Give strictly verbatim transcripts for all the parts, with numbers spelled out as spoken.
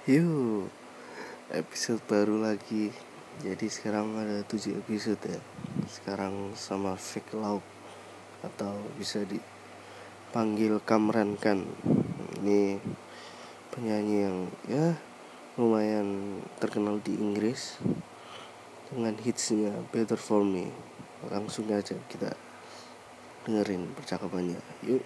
Yuk, episode baru lagi. Jadi sekarang ada tujuh episode ya. Sekarang sama Fake Lauk atau bisa dipanggil Kamran Khan. Ini penyanyi yang ya lumayan terkenal di Inggris dengan hitsnya Better For Me. Langsung aja kita dengerin percakapannya. Yuk.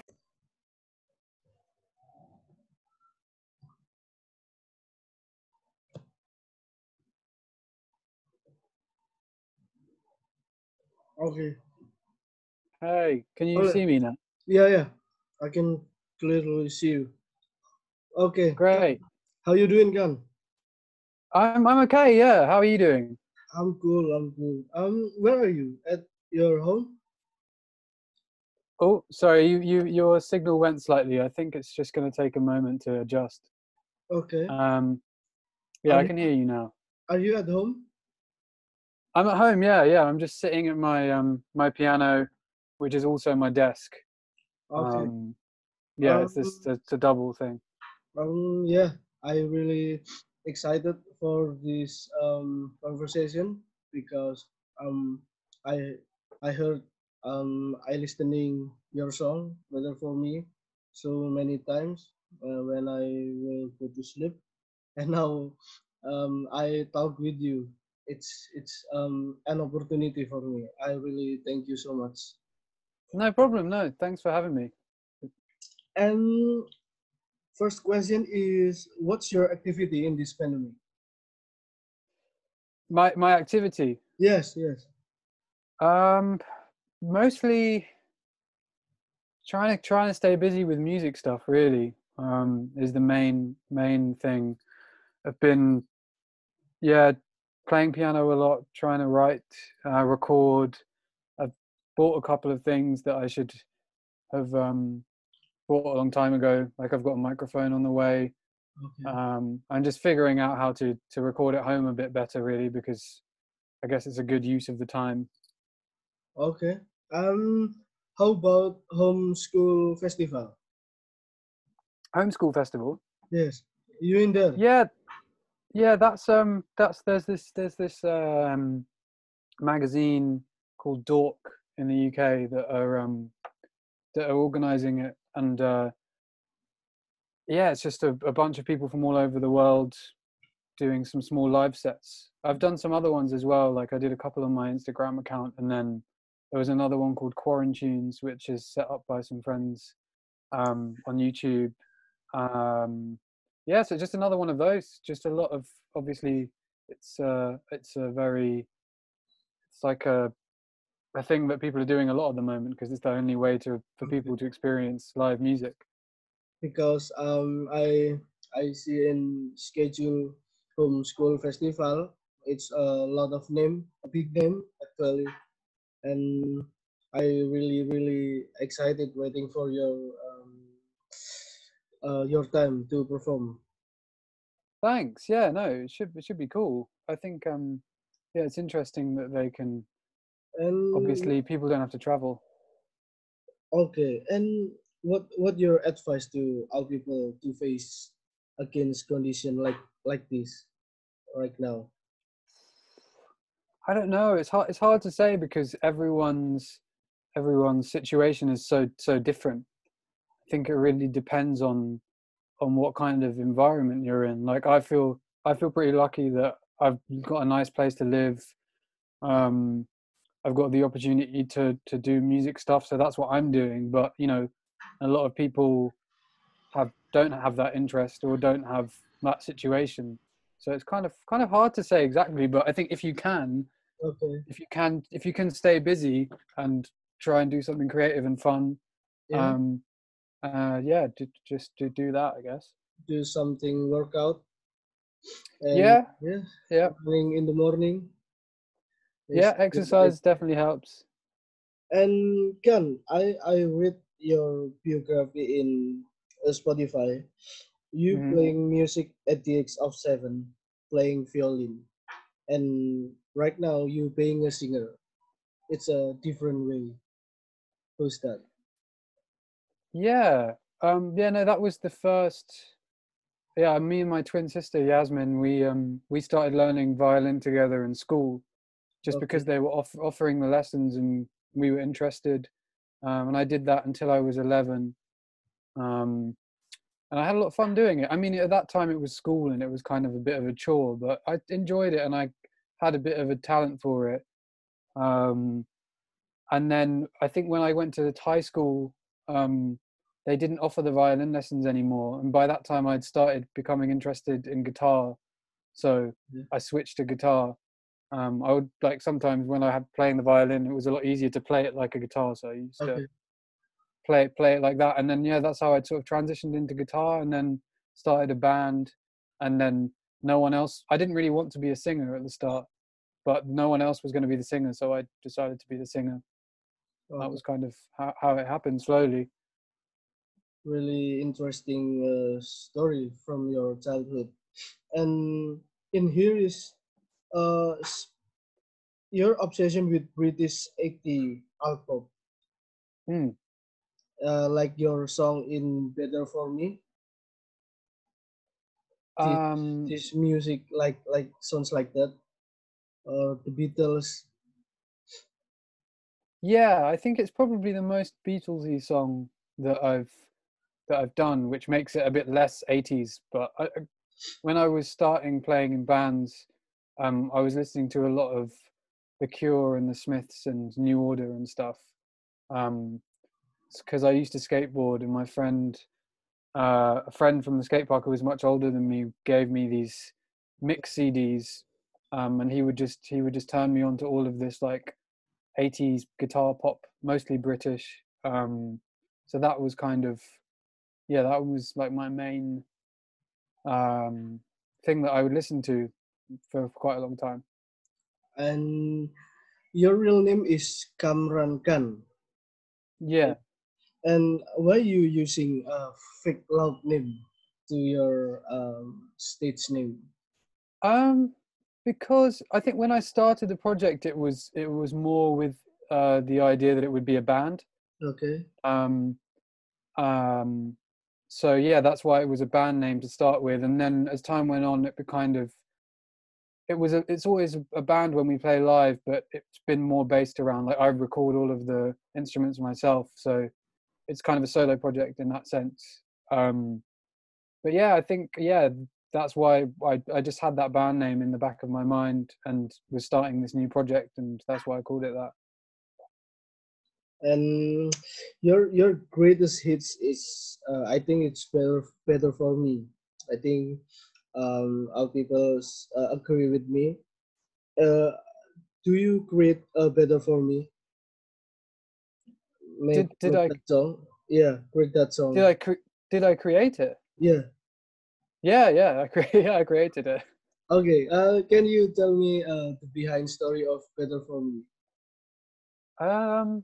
Okay. Hey, can you Hello. see me now? Yeah, yeah. I can clearly see you. Okay. Great. How you doing, Gan? I'm I'm okay. Yeah. How are you doing? I'm cool. I'm cool. Um, where are you? At your home? Oh, sorry. You you your signal went slightly. I think it's just going to take a moment to adjust. Okay. Um, yeah, Are I you- can hear you now. Are you at home? I'm at home. Yeah, yeah. I'm just sitting at my um my piano, which is also my desk. Okay. Um, yeah, it's this Um, it's a double thing. um, yeah. I really excited for this um conversation because um I I heard um I listening your song Better For Me so many times uh, when I will go to sleep, and now um I talk with you. It's it's um an opportunity for me. I really thank you so much. No problem. No, thanks for having me. And first question is, what's your activity in this pandemic? My my activity. Yes, yes. Um, mostly trying to trying to stay busy with music stuff. Really, um, is the main main thing. I've been, yeah, playing piano a lot, trying to write, uh, record. I've bought a couple of things that I should have um, bought a long time ago. Like I've got a microphone on the way. Okay. Um, I'm just figuring out how to to record at home a bit better, really, because I guess it's a good use of the time. Okay. Um, how about homeschool festival? Homeschool festival. Yes, you in there? Yeah, yeah. That's um. That's there's this there's this um magazine called Dork in the U K that are um that are organizing it, and uh, yeah, it's just a, a bunch of people from all over the world doing some small live sets. I've done some other ones as well. Like I did a couple on my Instagram account, and then there was another one called Quarantunes, which is set up by some friends um, on YouTube. Um, yeah, so just another one of those. Just a lot of, obviously, it's uh, it's a very, it's like a a thing that people are doing a lot at the moment because it's the only way to for people to experience live music. Because um I I see in schedule homeschool festival. It's a lot of name, a big name actually, and I really really excited waiting for your um uh, your time to perform. Thanks. Yeah, no, it should it should be cool. I think um yeah, it's interesting that they can, And obviously people don't have to travel. okay, and what what your advice to all people to face against condition like like this right now? I don't know. It's hard it's hard to say because everyone's everyone's situation is so so different. I think it really depends on on what kind of environment you're in. Like I feel I feel pretty lucky that I've got a nice place to live. Um I've got the opportunity to to do music stuff, so that's what I'm doing. But you know, a lot of people have don't have that interest or don't have that situation. So it's kind of kind of hard to say exactly. But I think if you can, Okay, if you can, if you can stay busy and try and do something creative and fun, yeah, um, uh, yeah, to, just to do that, I guess. do something workout and Yeah, yeah, yeah, running in the morning. Is yeah. good Exercise idea. definitely helps. And Ken, I I read your biography in uh, Spotify. You Hmm. playing music at the age of seven, playing violin, and right now you being a singer. It's a different way. Who's that? Yeah, um, yeah. No, that was the first. yeah, me and my twin sister Yasmin, we um we started learning violin together in school, just Okay. because they were off- offering the lessons and we were interested. Um, and I did that until I was eleven. Um, and I had a lot of fun doing it. I mean, at that time it was school and it was kind of a bit of a chore, but I enjoyed it and I had a bit of a talent for it. Um, and then I think when I went to high school, um, they didn't offer the violin lessons anymore, and by that time I'd started becoming interested in guitar, so Yeah. I switched to guitar. Um, I would like sometimes when I had playing the violin, it was a lot easier to play it like a guitar, so I used to Okay. play it play it like that, and then yeah, that's how I sort of transitioned into guitar, and then started a band, and then no one else. I didn't really want to be a singer at the start, but no one else was going to be the singer, so I decided to be the singer. That Okay. was kind of how, how it happened slowly. Really interesting uh, story from your childhood. And in here is uh s- your obsession with British eighty album, Mm. uh, like your song in Better For Me. This Um, this music like like sounds like that. Uh, the Beatles. yeah, I think it's probably the most Beatlesy song that I've that I've done, which makes it a bit less eighties. But I, I- when I was starting playing in bands, um, I was listening to a lot of The Cure and the Smiths and New Order and stuff. Um, because I used to skateboard, and my friend, uh, a friend from the skate park who was much older than me, gave me these mix C Ds, um, and he would just he would just turn me on to all of this like eighties guitar pop, mostly British. Um, so that was kind of yeah, that was like my main um, thing that I would listen to for quite a long time. And your real name is Kamran Khan. Yeah. And why you using a fake loud name to your um, stage name? Um, because I think when I started the project, it was it was more with uh, the idea that it would be a band. Okay. Um, um, so yeah, that's why it was a band name to start with, and then as time went on, it be kind of it was a, it's always a band when we play live, but it's been more based around like I record all of the instruments myself, so it's kind of a solo project in that sense. Um, but yeah, I think yeah, that's why I I just had that band name in the back of my mind and was starting this new project, and that's why I called it that. And your your greatest hits is uh, I think it's better better for me. I think um, all people uh, agree with me. Uh, do you create a better for me? Make Did did make I that song. Yeah, create that did song. I cre- did I create it? Yeah. Yeah, yeah, I cre- yeah, I created it. Okay. Uh, can you tell me uh, the behind story of better for me? Um,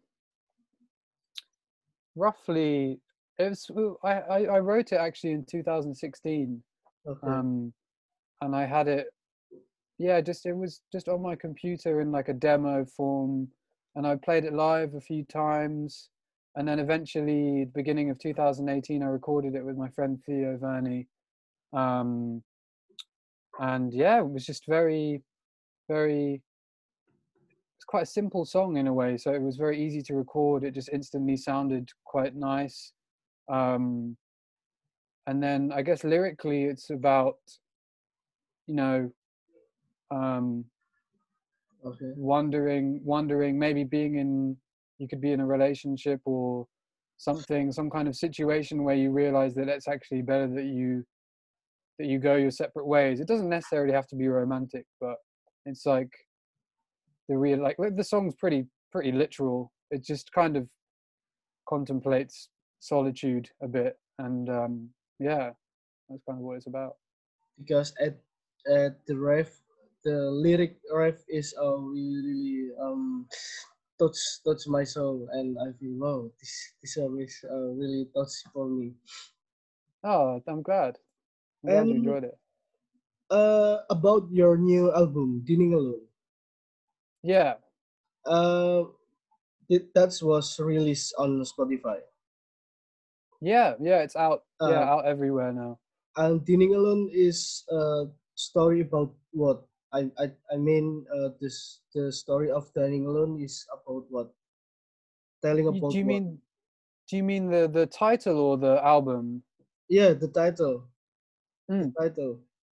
roughly, it was I I, I wrote it actually in two thousand sixteen. Okay. Um, and I had it yeah, just it was just on my computer in like a demo form, and I played it live a few times, and then eventually, beginning of two thousand eighteen, I recorded it with my friend Theo Verney, um, and yeah, it was just very, very. It's quite a simple song in a way, so it was very easy to record. It just instantly sounded quite nice, um, and then I guess lyrically, it's about you know. Um, Okay. wondering wondering maybe being in you could be in a relationship or something some kind of situation where you realize that it's actually better that you that you go your separate ways. It doesn't necessarily have to be romantic, but it's like the real like like, the song's pretty pretty literal. It just kind of contemplates solitude a bit, and um yeah, that's kind of what it's about. Because at at the ref, the lyric ref is uh, really really um touch touch my soul, and I feel wow, this this song is uh, really touch for me. Oh, i'm glad i'm glad you And enjoyed it. uh, about your new album, Dining Alone, Yeah, uh, it, that was released on Spotify. yeah, yeah, it's out, yeah, Uh, out everywhere now. and Dining Alone is a story about what? I I I mean, uh, this the story of Dining Alone is about what? Telling You, do about you what? mean do you mean the the title or the album? Yeah, the title. The Mm. title.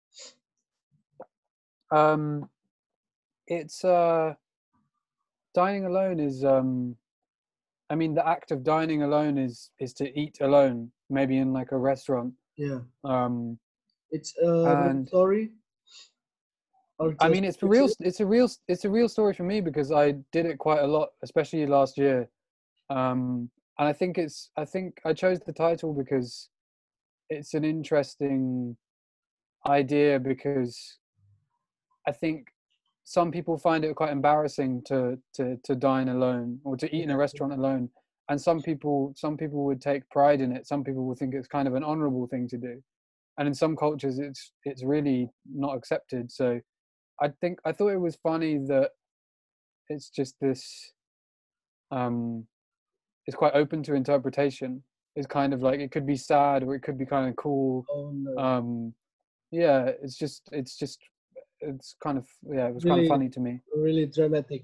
Um, it's uh, dining alone is um, I mean the act of dining alone is is to eat alone, maybe in like a restaurant. Yeah, Um, it's a real and story or I just mean it's a real fiction. it's a real it's a real story for me because I did it quite a lot, especially last year. Um, and I think it's I think I chose the title because it's an interesting idea because I think some people find it quite embarrassing to to to dine alone or to eat in a Yeah, restaurant alone, and some people some people would take pride in it. Some people would think it's kind of an honorable thing to do, and in some cultures it's it's really not accepted. So I think I thought it was funny that it's just this um it's quite open to interpretation. It's kind of like it could be sad or it could be kind of cool. oh no, um yeah, it's just it's just it's kind of yeah, it was kind of really, funny to me. really dramatic.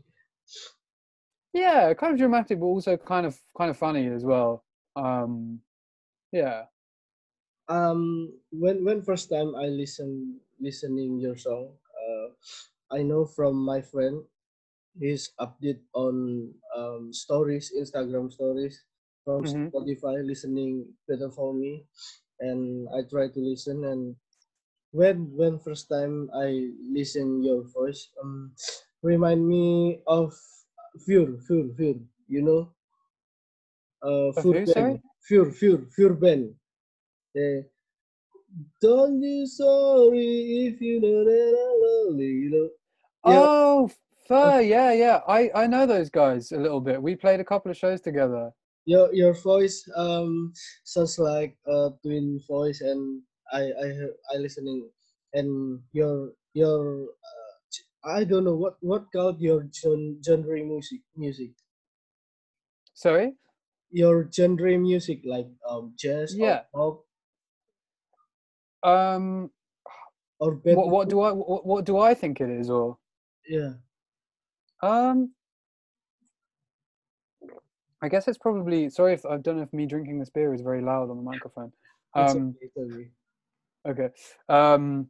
Yeah, kind of dramatic, but also kind of kind of funny as well. Um, yeah. Um, when when first time I listen listening your song, uh, I know from my friend his update on um, stories, Instagram stories from Hmm. Spotify, listening better for me, and I try to listen. And when when first time I listen your voice, um, remind me of Fur, Fur, Fur. You know, uh, Of Fur who? band, Sorry. Fur, Fur, Fur band. Yeah. Don't be sorry if you know that I'm lonely. You know, yeah. Oh, uh, Fur. Yeah, yeah. I I know those guys a little bit. We played a couple of shows together. your your voice um sounds like a twin voice, and I I hear- I listening, and your your uh, I don't know what what called your gen, genre music music Sorry. your genre music like um jazz or Yeah. pop Um. or bad What what music. do I what, what do I think it is or Yeah, um. I guess it's probably sorry if I don't know if me drinking this beer is very loud on the microphone. it's Um. okay, it's okay. Okay. Um.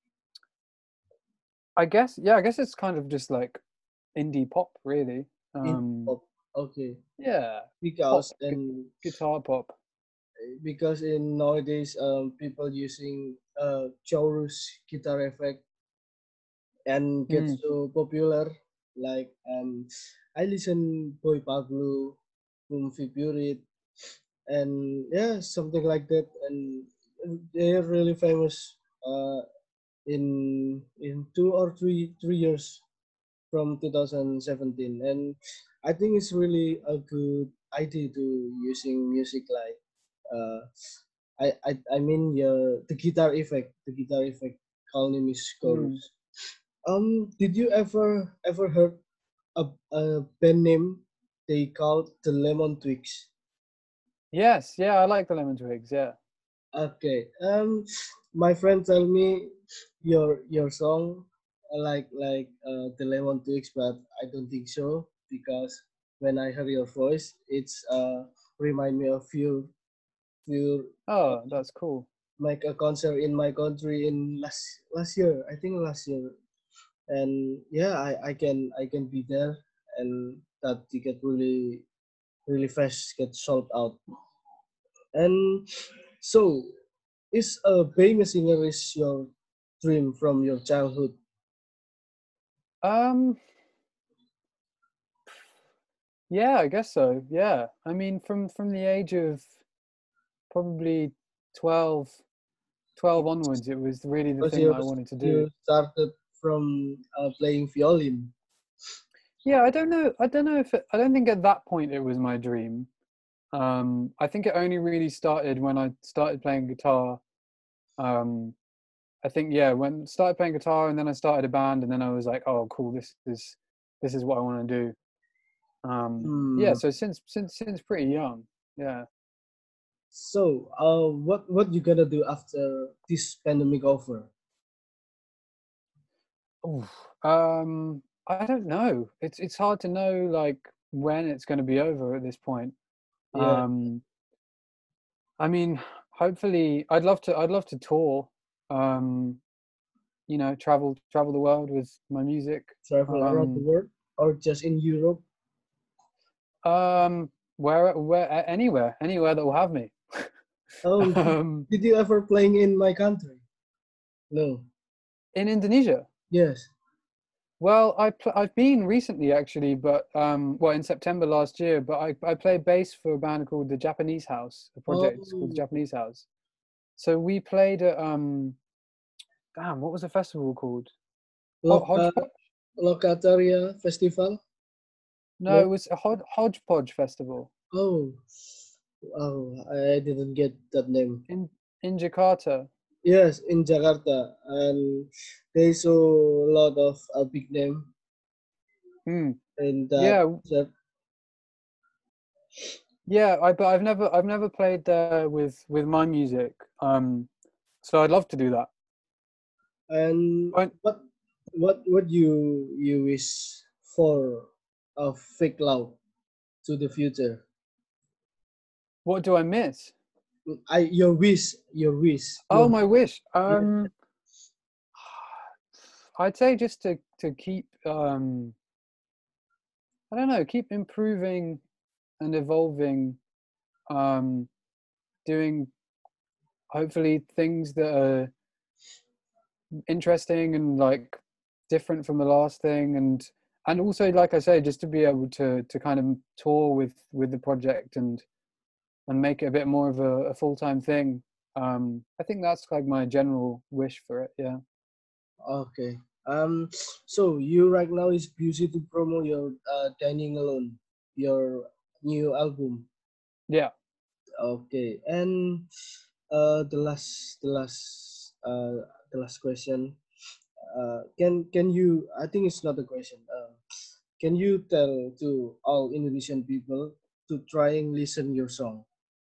I guess yeah. I guess it's kind of just like indie pop, really. In Um. pop, okay, Yeah. Pop, because gu- and guitar pop. because in nowadays um people using uh chorus guitar effect and get Mm. so popular. Like um, I listen Boy Pablo, Boom Figurit, and yeah, something like that. And they're really famous uh, in in two or three three years from two thousand seventeen. And I think it's really a good idea to using music like uh, I, I I mean yeah, the guitar effect, the guitar effect. Call name is Mm. chorus. Um, did you ever ever heard a, a band name they called the Lemon Twigs? Yes, yeah, I like the Lemon Twigs. Yeah. Okay. Um, my friend tell me your your song uh, like like uh, the Lemon Twigs, but I don't think so because when I hear your voice, it's uh remind me of you. You Oh, that's cool. make a concert in my country in last last year. I think last year, and yeah, I, I can I can be there, and that ticket really really fast get sold out. And so, is a famous singer is your dream from your childhood? Um, yeah, I guess so. Yeah. I mean, from from the age of probably twelve, twelve onwards, it was really the Because thing that you I wanted to do. you started from uh, playing violin. Yeah, I don't know. I don't know if it, I don't think at that point it was my dream. Um, I think it only really started when I started playing guitar. Um, I think yeah, when started playing guitar and then I started a band and then I was like, oh, cool, this is this is what I want to do. Um, yeah, Hmm. so since since since pretty young, yeah. So, uh, what what you gonna do after this pandemic over? Oof. Um, I don't know. It's it's hard to know like when it's going to be over at this point. Yeah, Um, I mean, hopefully, I'd love to. I'd love to tour. Um, you know, travel travel the world with my music. travel around the Um, world or just in Europe? um, where where a- anywhere anywhere that will have me. Oh, um, did you ever playing in my country? No. in Indonesia. Yes. Well, I pl- I've been recently actually, but um, well, in September last year. But I I play bass for a band called the Japanese House. The project is called the Oh, Japanese House. So we played at um, damn, what was the festival called? Ho- Loka Hodgepodge? Lokataria Festival? No, it No. was a Hod- Hodgepodge Festival Oh, oh, I didn't get that name. in in Jakarta. Yes, in Jakarta, and there's a lot of a big name Hmm. in that Yeah, set. yeah. I but I've never I've never played there with with my music. Um, so I'd love to do that. And I, what what what you you wish for a fake love to the future? what do I miss? I your wish, your wish, Oh, your my wish. yeah. Um, I'd say just to to keep um I don't know, keep improving and evolving, um, doing hopefully things that are interesting and like different from the last thing, and and also like I say, just to be able to to kind of tour with with the project and and make it a bit more of a, a full time thing. Um, I think that's like my general wish for it. Yeah. Okay. Um. So you right now is busy to promote your uh, Dining Alone, your new album. Yeah. Okay. And uh, the last, the last, uh, the last question. Uh, can can you? I think it's not a question. Uh, can you tell to all Indonesian people to try and listen your song?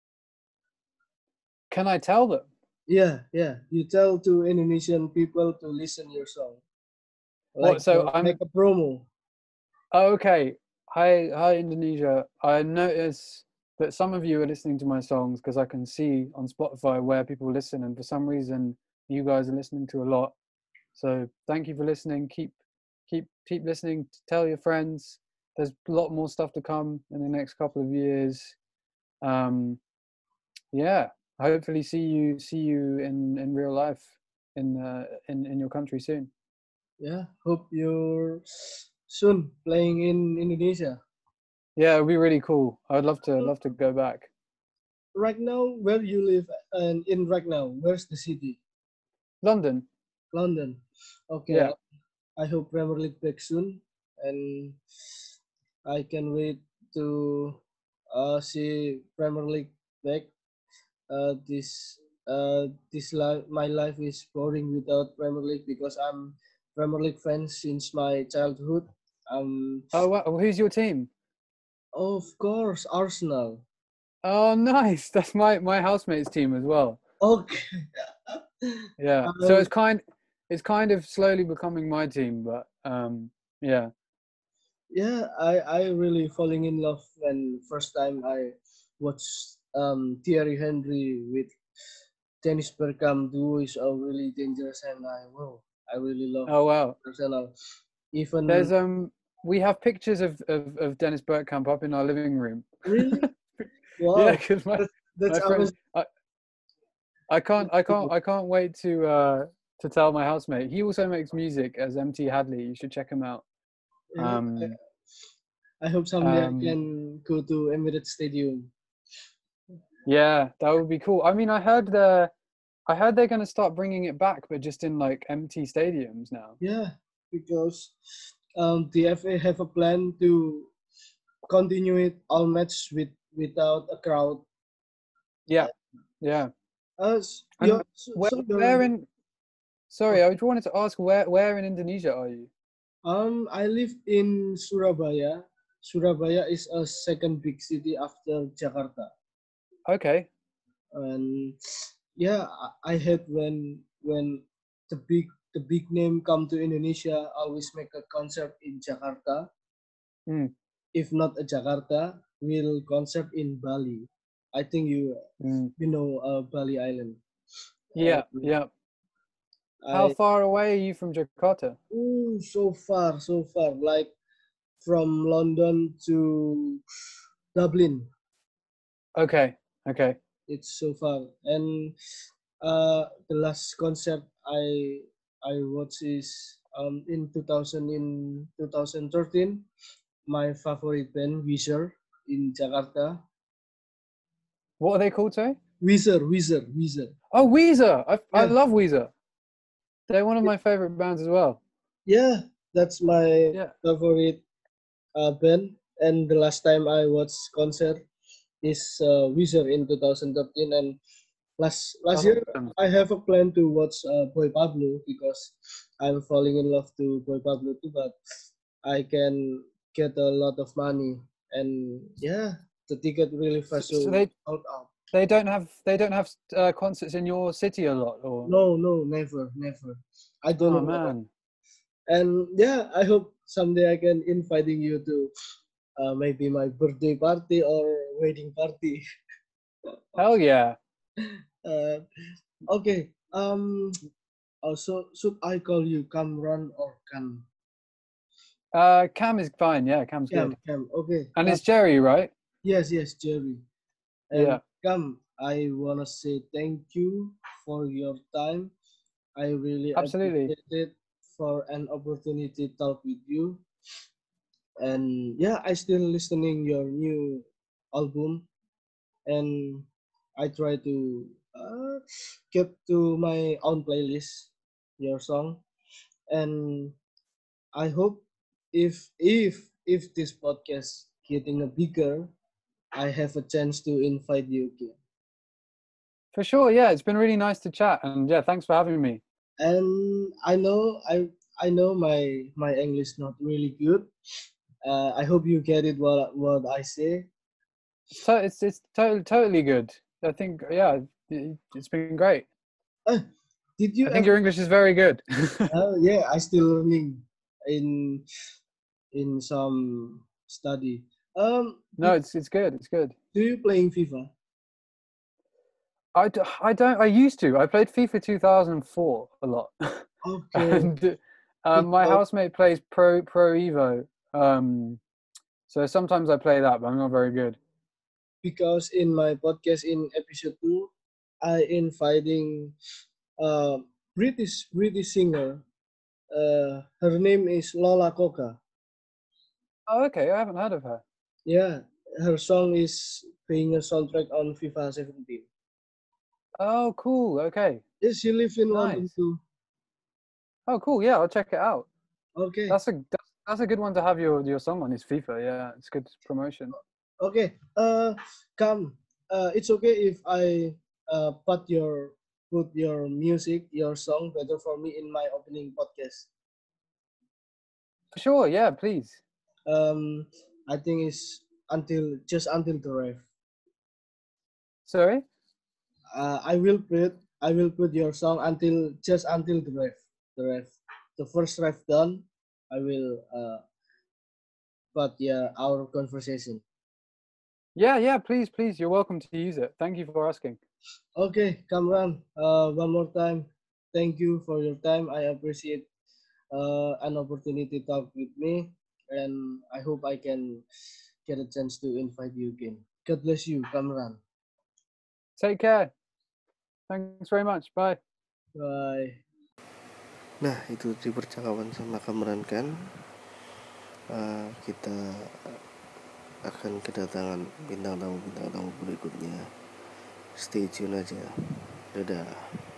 Can I tell them? Yeah, yeah. You tell to Indonesian people to listen your song, like What? So uh, like I'm a promo. oh, okay. Hi, hi, Indonesia. I notice that some of you are listening to my songs because I can see on Spotify where people listen, and for some reason, you guys are listening to a lot. So thank you for listening. Keep, keep, keep listening. Tell your friends. There's a lot more stuff to come in the next couple of years. Um, yeah. Hopefully, see you, see you in in real life in uh, in in your country soon. Yeah, hope you're soon playing in Indonesia. Yeah, it'd be really cool. I'd love to love to go back. Right now, where you live and in right now, where's the city? London. London. Okay, Yeah. I, I hope Premier League back soon, and I can wait to uh, see Premier League back. Uh, this uh, this life, my life is boring without Premier League because I'm Premier League fan since my childhood. Um, Oh, wow. Who's your team? of course, Arsenal. Oh, nice. That's my my housemate's team as well. Okay. Yeah. So um, it's kind it's kind of slowly becoming my team, but um, yeah. yeah, I I really falling in love when first time I watched um Thierry Henry with Dennis Bergkamp duo is a really dangerous, and I wow I really love Oh, wow. Arsenal. Even There's um we have pictures of of, of Dennis Bergkamp up in our living room. really Yeah, wow, because my that's that's my friend, amazing. I, I can't I can't I can't wait to uh to tell my housemate. He also makes music as M T Hadley. You should check him out. Yeah, I, Um I hope someday I um can go to Emirates Stadium. yeah, that would be cool. I mean, I heard the I heard they're going to start bringing it back, but just in like empty stadiums now. Yeah, because um the F A have a plan to continue it all match with without a crowd. Yeah, yeah. Uh, s- your, And so, where, so your, where in? Sorry, I just wanted to ask where, where in Indonesia are you? um, I live in Surabaya. Surabaya is a second big city after Jakarta. Okay, and yeah, I I hate when when the big the big name come to Indonesia always make a concert in Jakarta. Mm, If not a Jakarta, will concert in Bali. I think you mm. you know uh, Bali Island. Yeah, And yeah. How I far away are you from Jakarta? ooh, so far, so far, like from London to Dublin. Okay, okay. It's so far, and uh, the last concert I I watched is um in two thousand in twenty thirteen. My favorite band Weezer in Jakarta. What are they called, sorry? Weezer, Weezer, Weezer. Oh, Weezer. I I Yeah, love Weezer. They're one of my favorite bands as well. yeah, that's my Yeah. favorite uh, band. And the last time I watched concert is uh, Weezer in twenty thirteen, and last last year Awesome. I have a plan to watch uh, Boy Pablo because I'm falling in love to Boy Pablo too, but I can get a lot of money, and yeah, the ticket really So, fast so so they out out. they don't have they don't have uh, concerts in your city a lot, or No, no, never, never. I don't oh know why. man, And yeah, I hope someday I can inviting you to uh, maybe my birthday party or wedding party. hell yeah. uh, okay. Um. Also, should I call you Kamran or Kam? Uh, Cam is fine. Yeah, Cam's Cam, good. Cam. Okay. And Cam. it's Jerry, right? Yes, yes, Jerry. And Yeah, Cam, I wanna say thank you for your time. I really absolutely. appreciate it for an opportunity to talk with you. And yeah, I still listening your new album, and I try to uh, get to my own playlist your song, and I hope if if if this podcast getting a bigger, I have a chance to invite you again. For sure. Yeah, it's been really nice to chat, and yeah, thanks for having me. And I know I I know my my English not really good. Uh, I hope you get it what what I say. It's to- it's it's totally totally good. I think yeah, it, it's been great. Uh, did you I think ever? your English is very good. Uh, yeah, I still learning in in some study. Um, No, did, it's it's good. It's good. do you playing FIFA? I, d- I don't. I used to. I played FIFA two thousand four a lot, Okay, and um, my because housemate plays Pro Pro Evo. Um, so sometimes I play that, but I'm not very good. because in my podcast in episode two, I inviting uh British British singer. Uh, her name is Lola Coca. Oh, okay. I haven't heard of her. Yeah, her song is being a soundtrack on FIFA seventeen. Oh, cool. Okay, Yes, she lives in London nice. too. Oh, cool. Yeah, I'll check it out. Okay, That's a that's, that's a good one to have your your song on. Is FIFA? Yeah, it's good promotion. okay. Uh, come. Uh, it's okay if I uh put your put your music, your song better for me in my opening podcast. For sure. Yeah, please. Um, I think it's until just until the ref. Sorry. Uh, I will put I will put your song until just until the ref. The ref. The first ref done. I will uh put yeah our conversation. Yeah, yeah. Please, please. You're welcome to use it. Thank you for asking. Okay, Kamran. Uh, one more time. Thank you for your time. I appreciate uh, an opportunity to talk with me, and I hope I can get a chance to invite you again. God bless you, Kamran. Take care. Thanks very much. Bye. Bye. Nah, itu di percakapan sama Kamran kan. Uh, kita akan kedatangan bintang tamu bintang tamu berikutnya. Stay tune aja. Dadah.